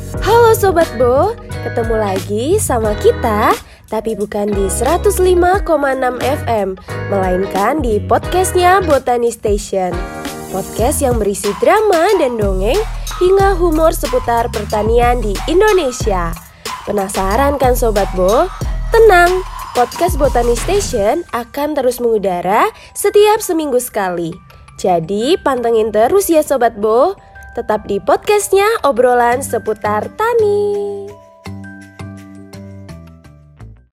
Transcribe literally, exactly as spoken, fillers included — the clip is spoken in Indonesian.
Halo Sobat Bo, ketemu lagi sama kita, tapi bukan di seratus lima koma enam F M, melainkan di podcastnya Botani Station. Podcast yang berisi drama dan dongeng hingga humor seputar pertanian di Indonesia. Penasaran kan Sobat Bo? Tenang, podcast Botani Station akan terus mengudara setiap seminggu sekali. Jadi pantengin terus ya Sobat Bo. Tetap di podcastnya obrolan seputar tani.